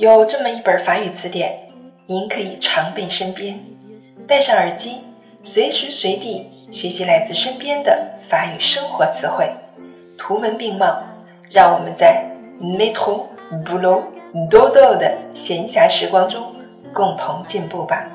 有这么一本法语词典，您可以常备身边，戴上耳机，随时随地学习来自身边的法语生活词汇，图文并茂，让我们在 métro, boulot, dodo 的闲暇时光中共同进步吧。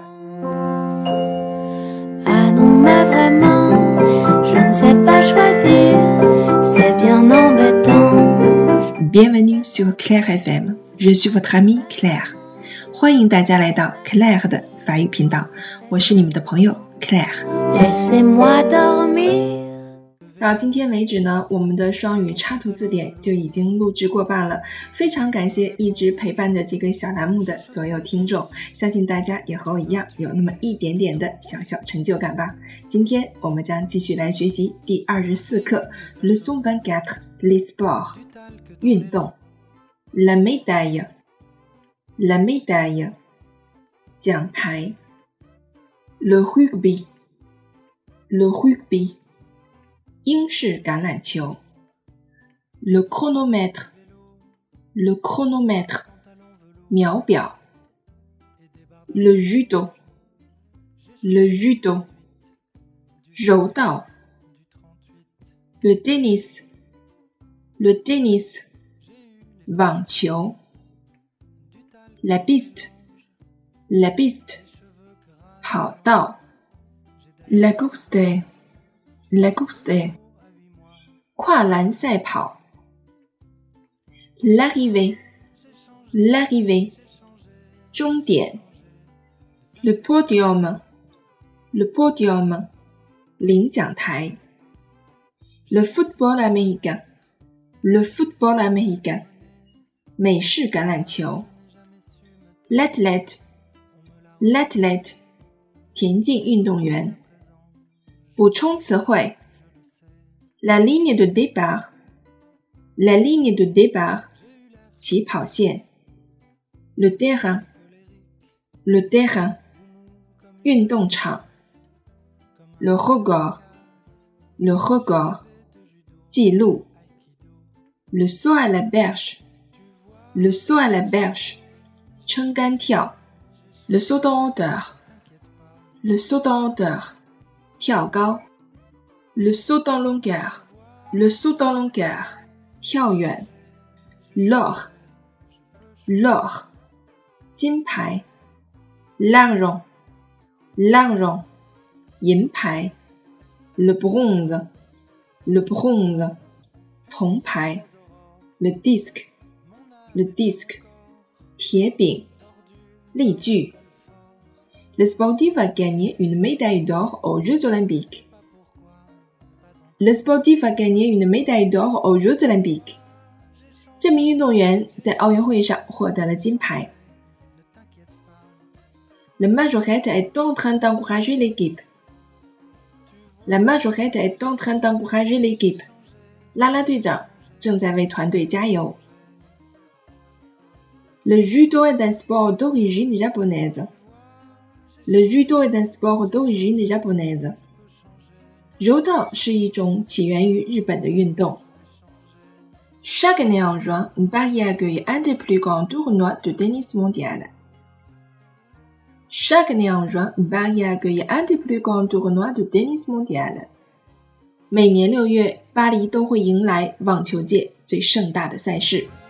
Bienvenue sur Claire FM, je suis votre amie Claire. 欢迎大家来到 Claire 的法语频道，我是你们的朋友 Claire。到今天为止呢，我们的双语插图字典就已经录制过半了，非常感谢一直陪伴着这个小栏目的所有听众，相信大家也和我一样有那么一点点的小小成就感吧。今天我们将继续来学习第24课 Leçon 24 Les sports 运动 La médaille La médaille 奖牌 Le rugby Le rugby 英式橄榄球 Le chronomètre Le chronomètre 秒表 Le judo Le judo 柔道 Le tennis Le tennis 网球 La piste La piste 跑道 La course La course 跨栏赛跑 L'arrivée L'arrivée 终点 Le podium Le podium 领奖台 Le football américain Le football américain 美式橄榄球 L'athlète L'athlète 田径运动员补充词汇 La ligne de départ La ligne de départ 起跑线 Le terrain Le terrain 运动场 Le record Le record 记录 Le saut à la berge Le saut à la berge 撑杆跳 Le saut en hauteur Le saut en hauteur 跳高 Le saut en longueur Le saut en longueur 跳远 L'or L'or 金牌 L'argent L'argent 银牌 Le bronze Le bronze 铜牌 Le disque Le disque 铁饼例句Le sportif a gagné une médaille d'or aux Jeux Olympiques. Le sportif a gagné une médaille d'or aux Jeux Olympiques. 这名运动员在奥运会上获得了金牌。La majorette est en train d'encourager l'équipe. La majorette est en train d'encourager l'équipe. 啦啦队长正在为团队加油。Le judo est un sport d'origine japonaise.Le judo est un sport d'origine japonaise. 柔道是一种起源于日本的运动。Chaque année en juin, Paris accueille un des plus grands tournois de tennis mondial. Chaque année en juin, Paris accueille un des plus grands tournois de tennis mondial. 每年6月，巴黎都会迎来网球界最盛大的赛事。